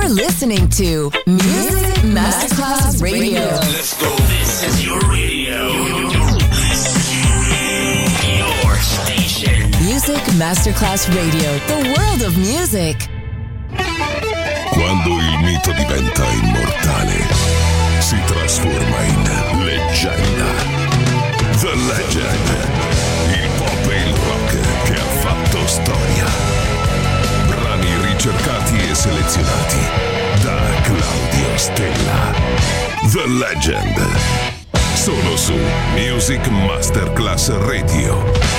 You're listening to Music Masterclass Radio. Let's go. This is your radio. Your station. Music Masterclass Radio. The world of music. Quando il mito diventa immortale, si trasforma in leggenda. The Legend. Il pop e il rock che ha fatto storia. Brani ricercati e selezionati da Claudio Stella. The Legend. Solo su Music Masterclass Radio.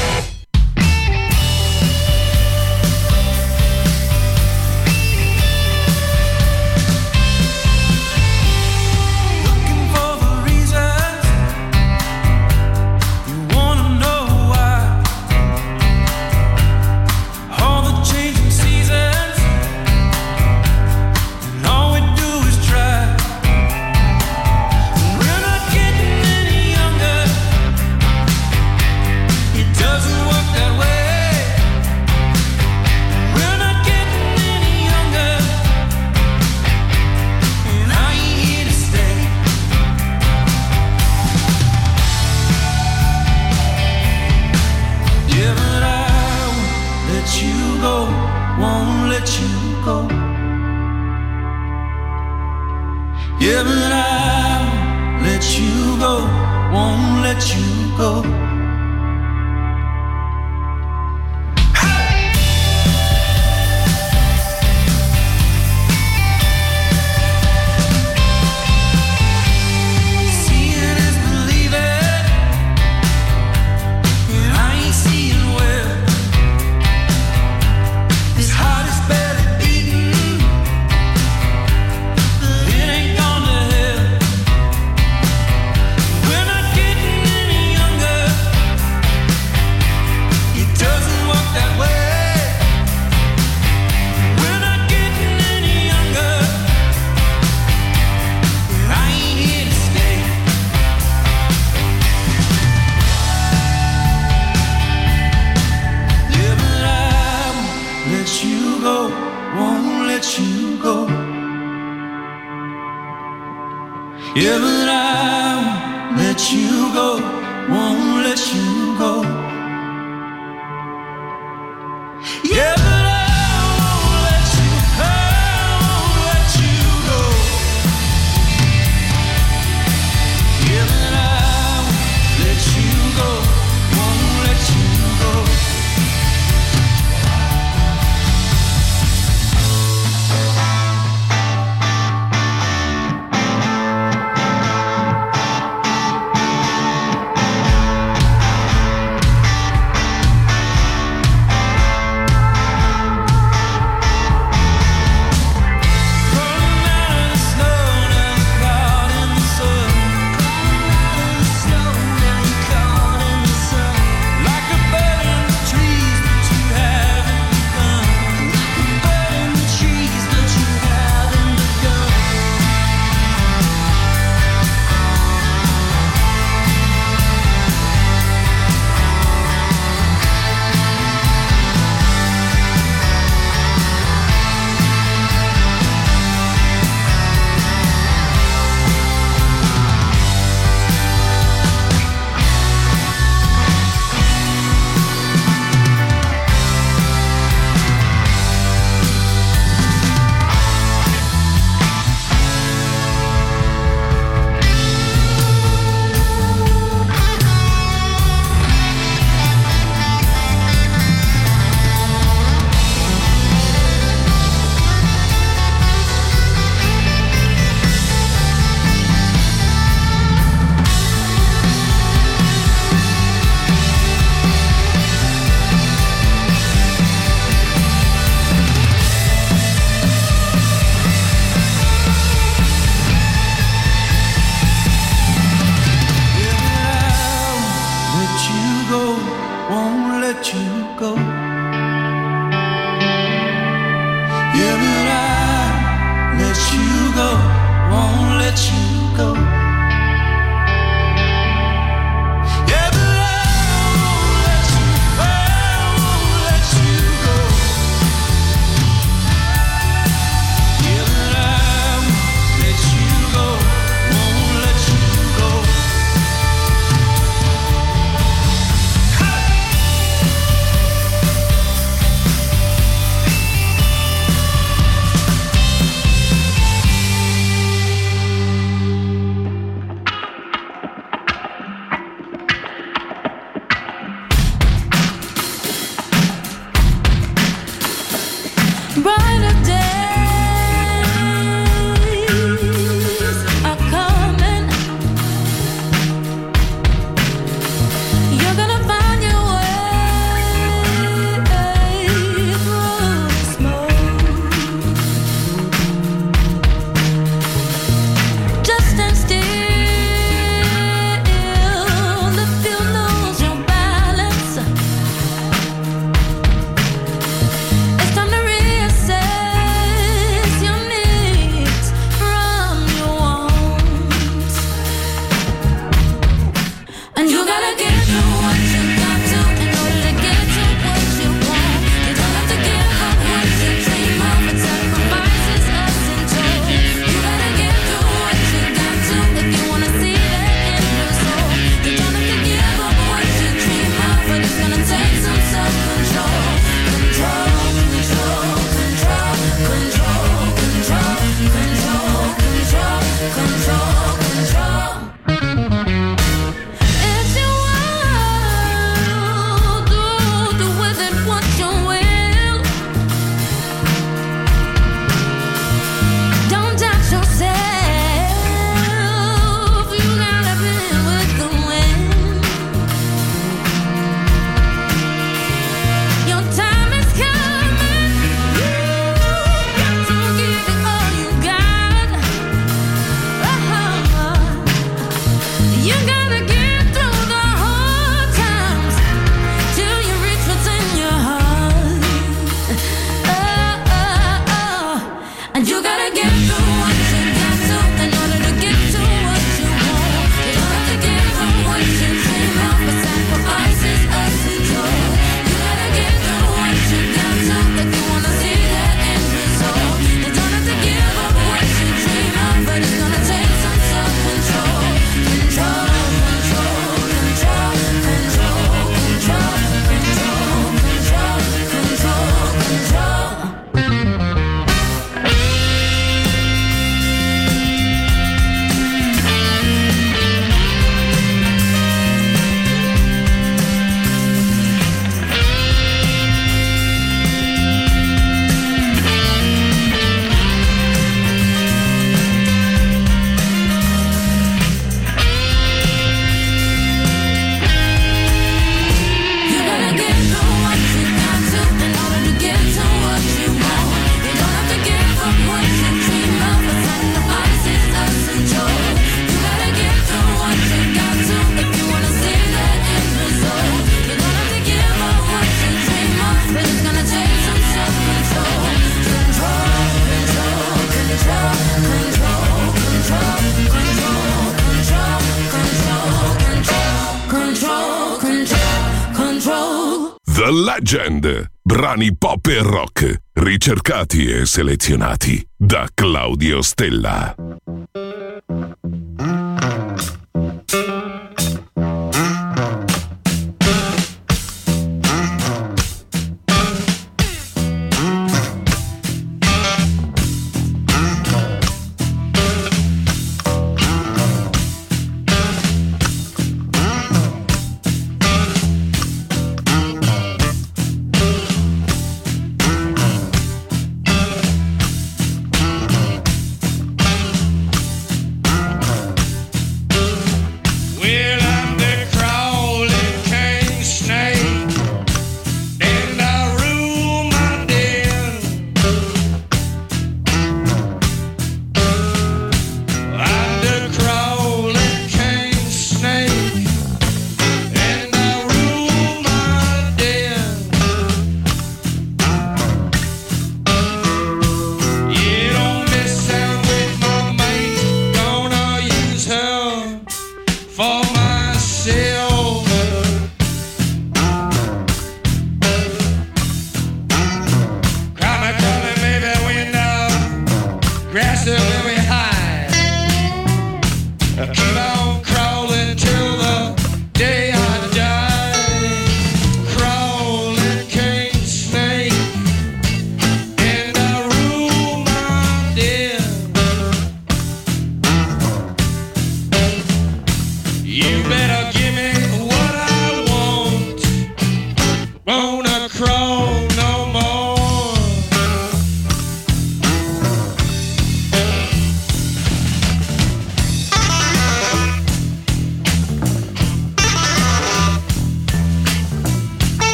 The Legend, brani pop e rock, ricercati e selezionati da Claudio Stella.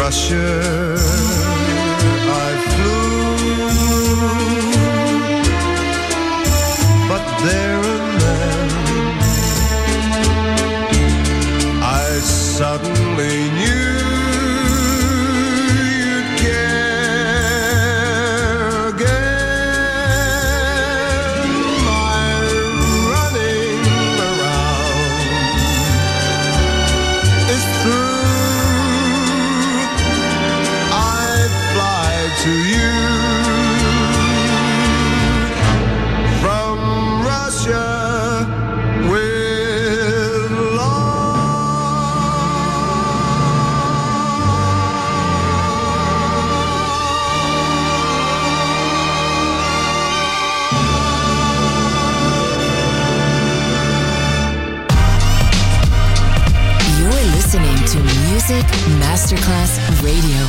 Russia I flew, but there and then I suddenly knew you'd care again. My running around is through. To you from Russia with You're listening to Music Masterclass Radio.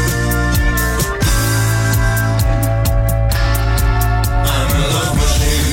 I'm a love machine.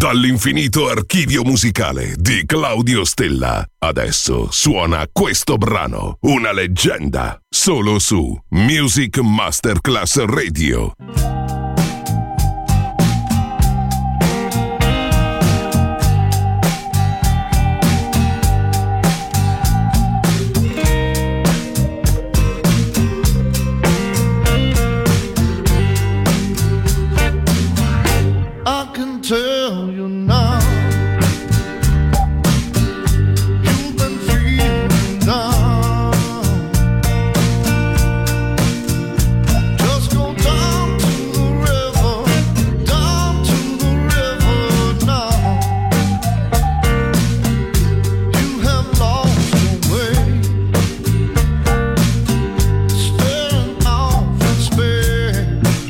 Dall'infinito archivio musicale di Claudio Stella. Adesso suona questo brano, una leggenda, solo su Music Masterclass Radio. Tell you now, you've been feeling down. Just go down to the river now. You have lost your way, staring off in space.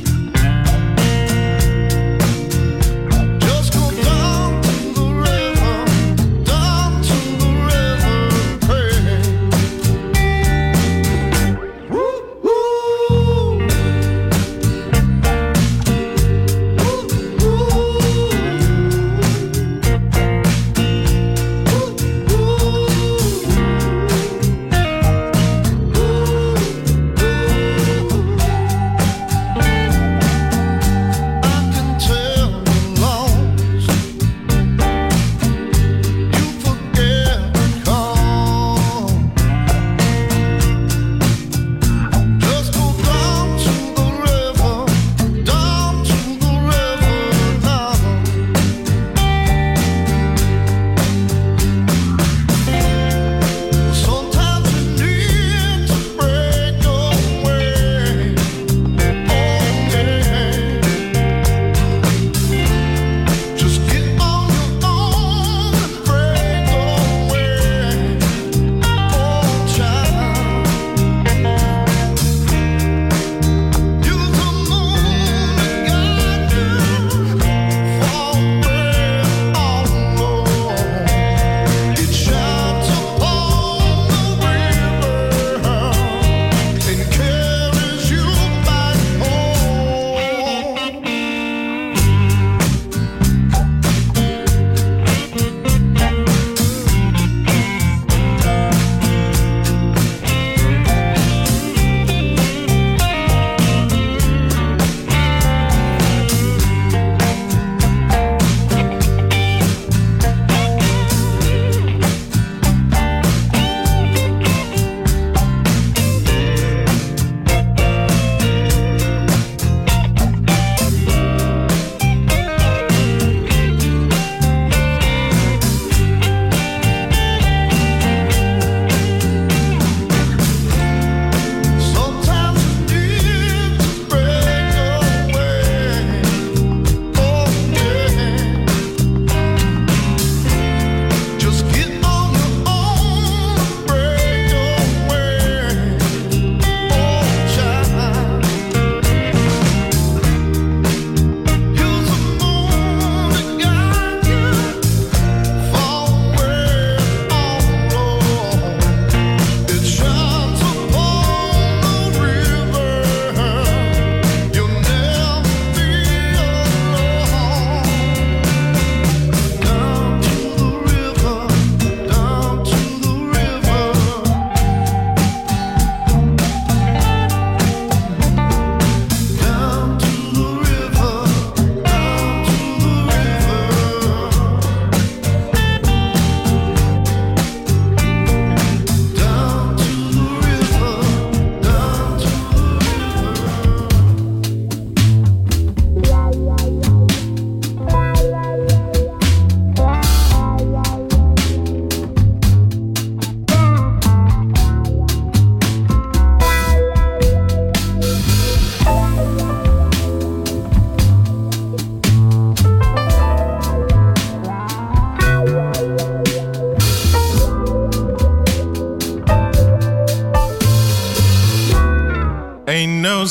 Ain't no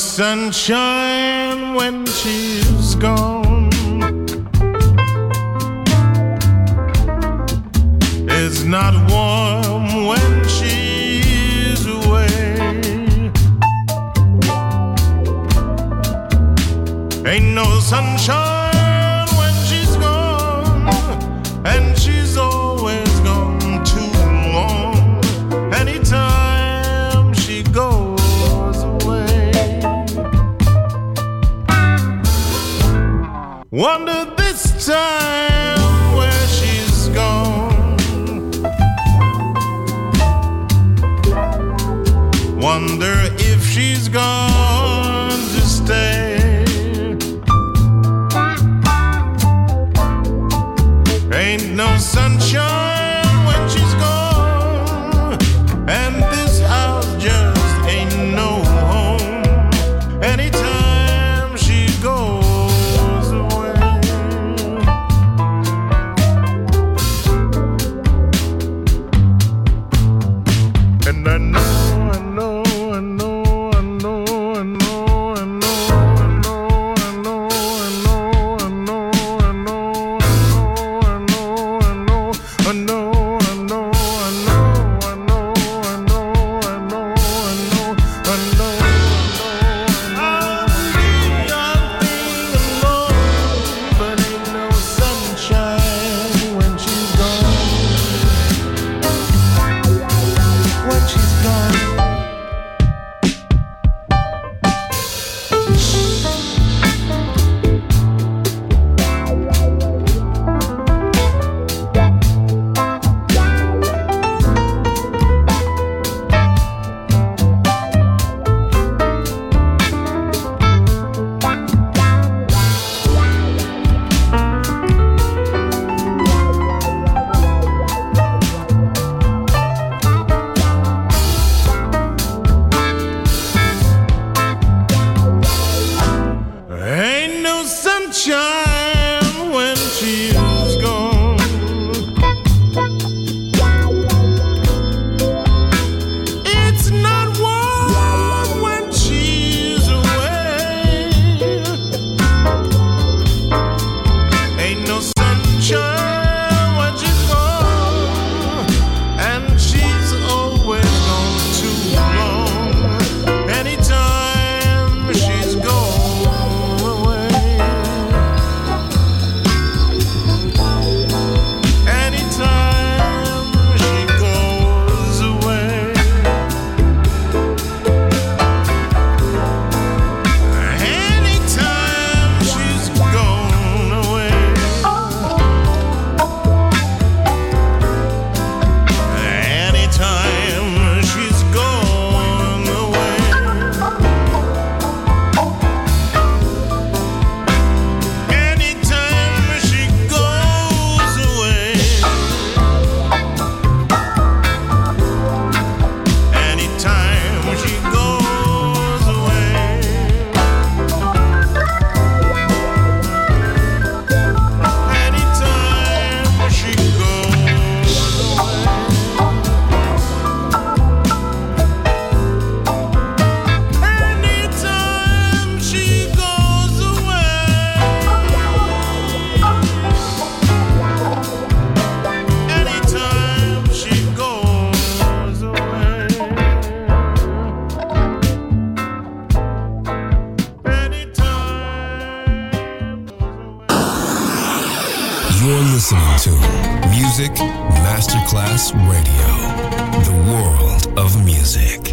sunshine when she's gone. It's not warm when she's away. Ain't no sunshine when she's gone. Wonder this time where she's gone. Wonder if she's gone to stay. Ain't no sunshine when she's gone, and this house just ain't no home anytime she goes away. And I know listening to Music Masterclass Radio, the world of music.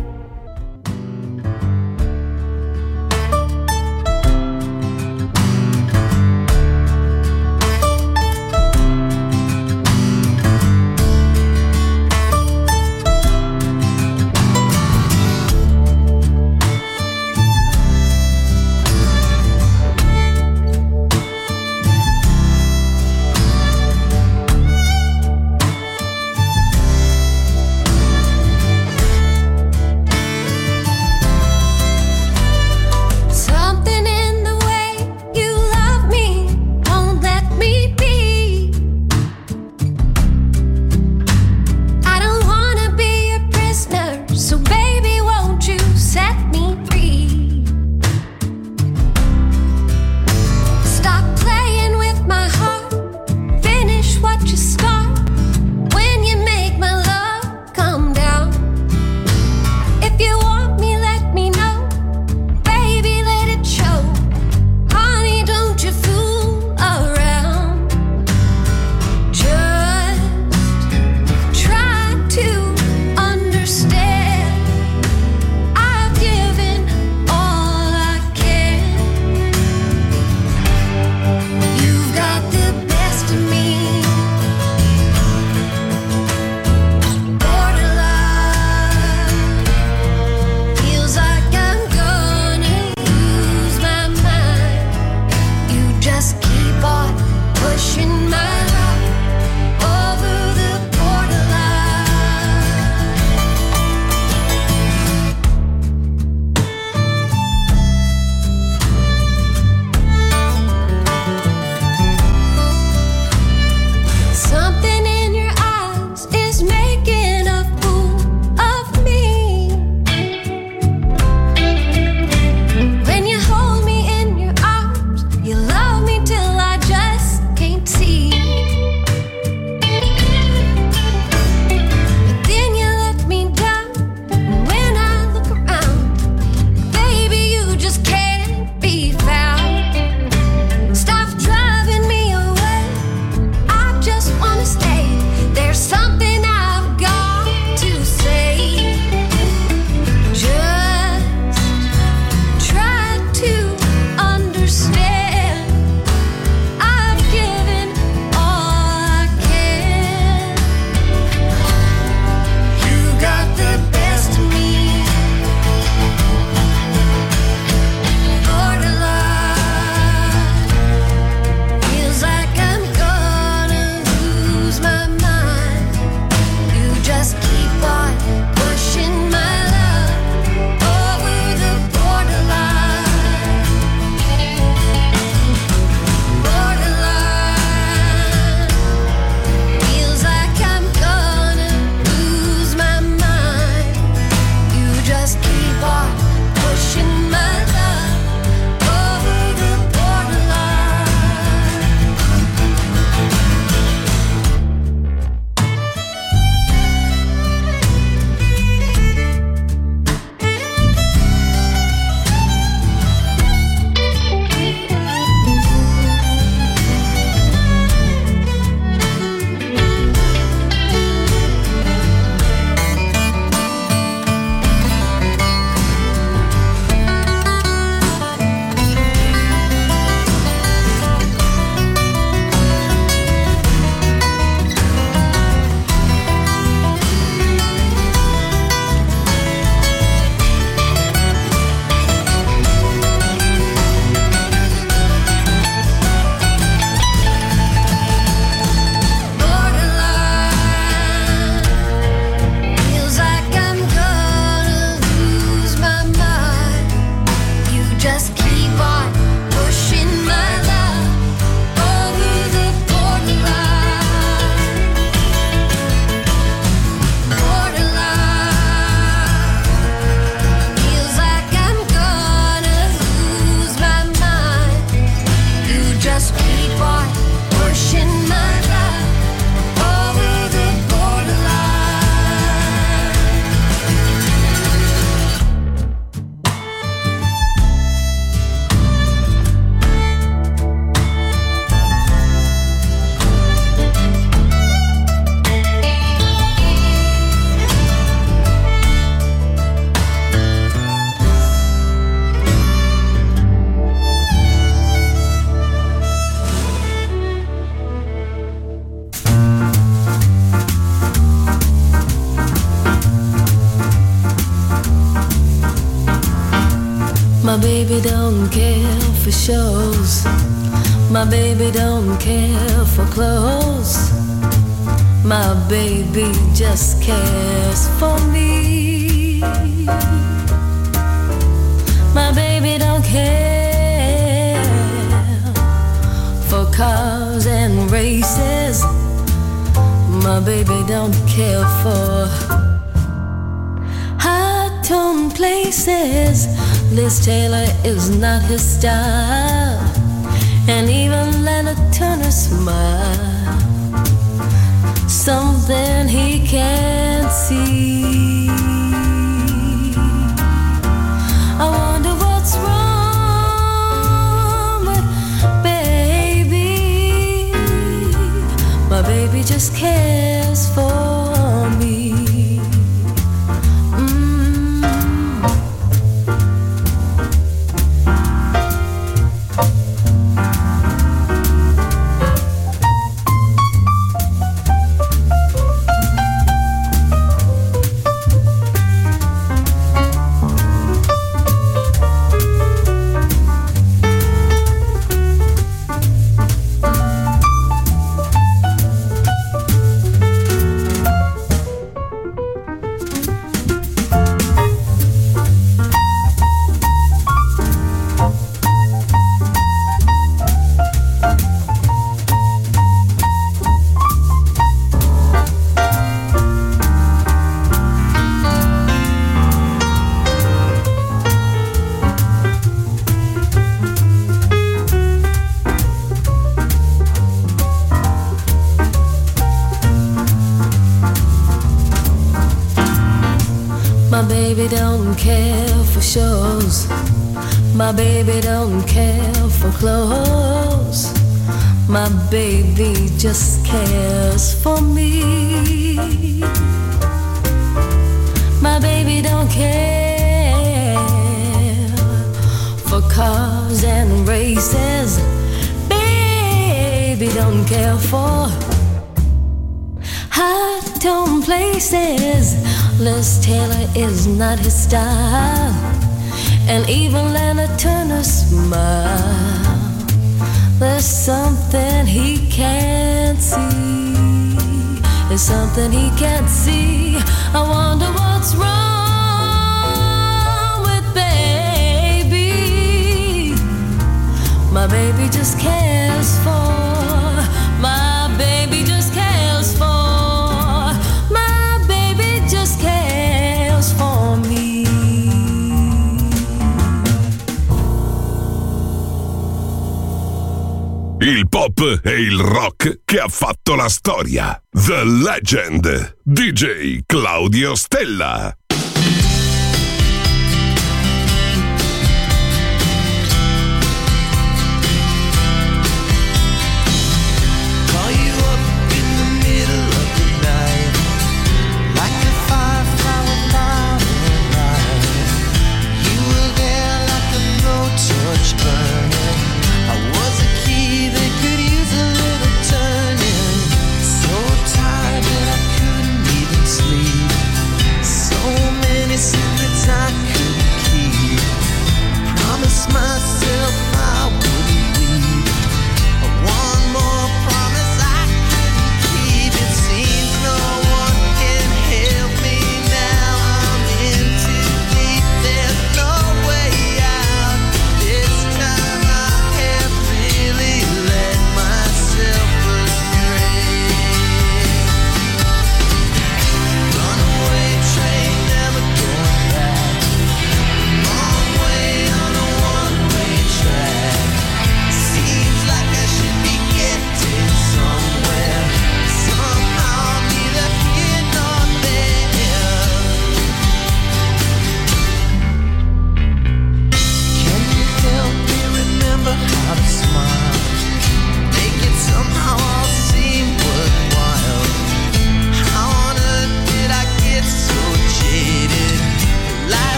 pushing my love over the My baby don't care for shows. My baby don't care for clothes. My baby just cares for me. My baby don't care for cars and races. My baby don't care for high-tone places. Liz Taylor is not his style, and even Leonard Turner smile. Something he can't see. I wonder what's wrong with baby. My baby just cares for me. My baby don't care for clothes. My baby just cares for me. My baby don't care for cars and races. Baby don't care for high-tone places. Liz Taylor is not his style, and even Leonard Turner smile. There's something he can't see. There's something he can't see. I wonder what's wrong with baby. My baby just cares for. My baby just cares for. My baby just cares for me. il pop e il rock che ha fatto la storia. The Legend, DJ Claudio Stella.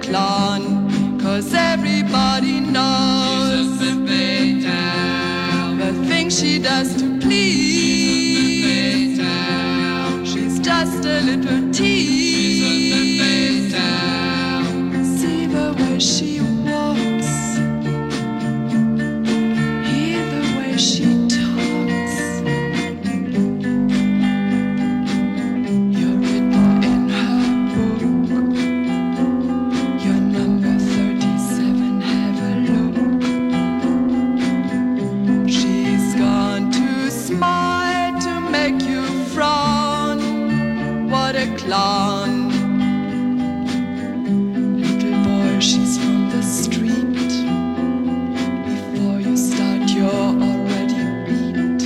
clown, 'cause everybody knows the things she does to please. She's just a little tease. See the way she walks, hear the way she talks. You're written in her book. You're number 37, have a look. She's gone too smart to make you frown. What a clown. Little boy, she's from the street. Before you start, you're already beat.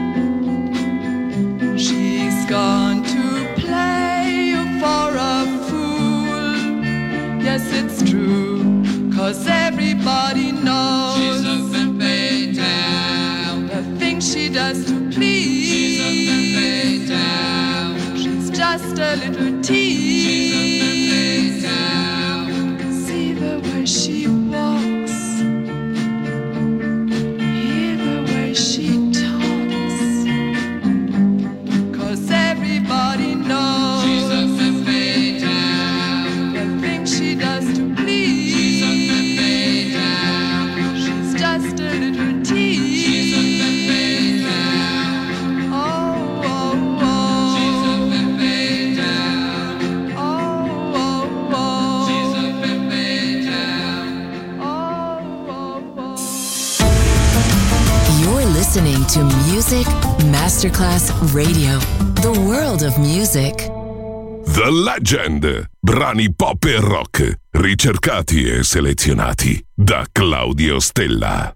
She's gone to play you for a fool. Yes, it's true, 'cause everybody knows she's a femme town. The things she does to please. She's a femme town. She's just a little tease. She's a femme town. See the way she walks, hear the way she talks. 'Cause everybody knows she's a femme town. The things she does to please. She's a femme town. She's just a little tease. She's a femme town. Oh, oh, oh. She's a femme town. Oh, oh, oh. She's a femme town. Oh, oh, oh. You're listening to Music Masterclass Radio, the world of music. The Legend. Brani pop e rock, ricercati e selezionati da Claudio Stella.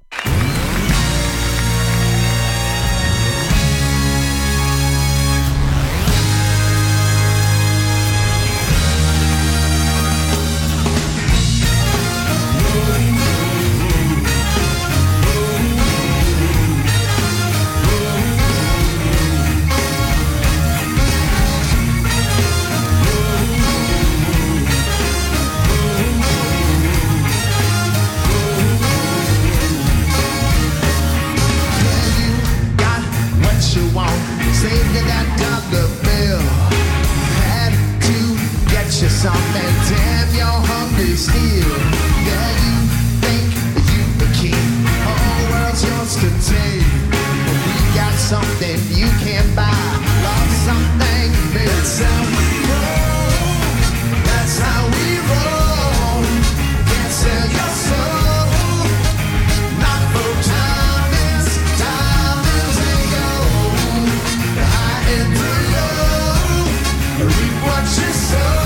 Something, damn, you're hungry still. Yeah, you think you the king, whole world's yours to take. But we got something you can't buy, love something new. That's how we roll, that's how we roll. Can't sell your soul, not for diamonds, diamonds and gold. High and low, reap what you sow.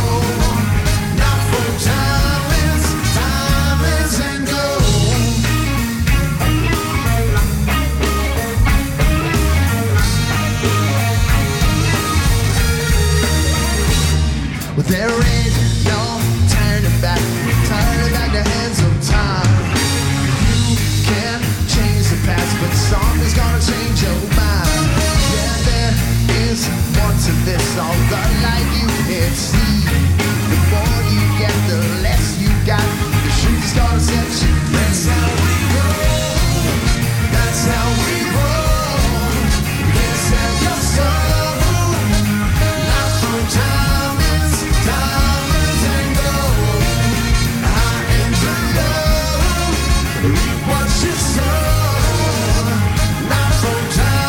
There ain't no turning back the hands of time. You can change the past, but something's gonna change your mind. Yeah, there is more to this, all the light you can't see. The more you get, the less you got. The truth is gonna set you free. That's how we roll. That's how we roll. You can't sell your soul, not for time. Diamonds and gold, high and low, reap what you sow, not for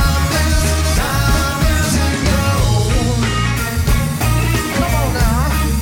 diamonds, diamonds and gold. Come on now.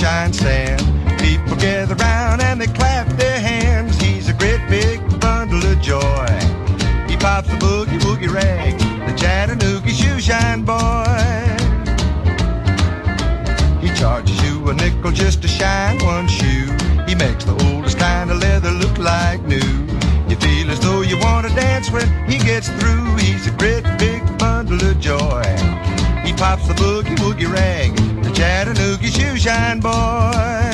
shoeshine stand. People gather round and they clap their hands. He's a great big bundle of joy. He pops the boogie woogie rag, the Chattanooga shoeshine boy. He charges you a nickel just to shine one shoe. He makes the oldest kind of leather look like new. You feel as though you want to dance when he gets through. He's a great big bundle of joy. He pops the boogie woogie rag, the Chattanooga shoeshine boy.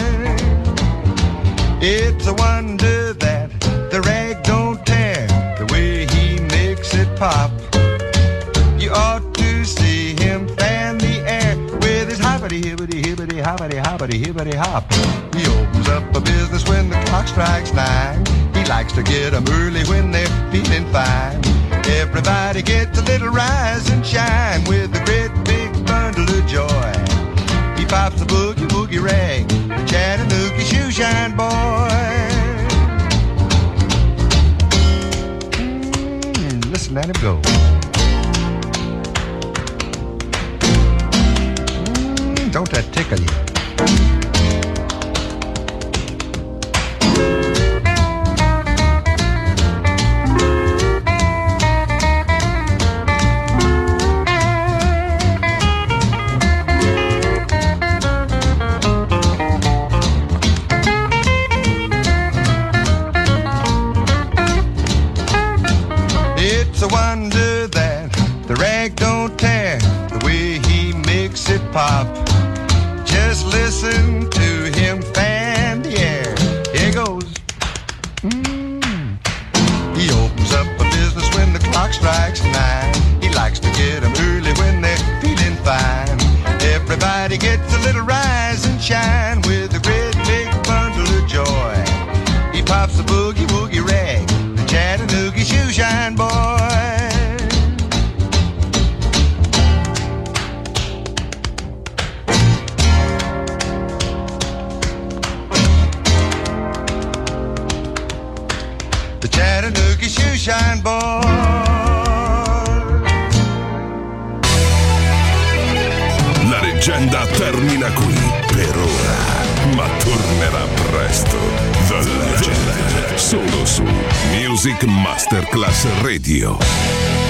It's a wonder that the rag don't tear, the way he makes it pop. You ought to see him fan the air with his hoppity hibbity hibbity hoppity hoppity hibbity hop. He opens up a business when the clock strikes 9. He likes to get 'em early when they're feeling fine. Everybody gets a little rise and shine with a great big bundle of joy. He pops the boogie woogie rag, the Chattanooga shoeshine boy. Listen at him go. Don't that tickle you? It's a wonder that the rag don't tear, the way he makes it pop. Just listen to him fan the air. Here goes. He opens up a business when the clock strikes 9. He likes to get 'em early when they're feeling fine. Everybody gets a little rise and shine with a great big bundle of joy. He pops the boogie woogie rag, the Chattanooga shoeshine boy. The Chattanooga shoeshine boy. La leggenda termina qui per ora, ma tornerà presto. The Legend, solo su Music Masterclass Radio.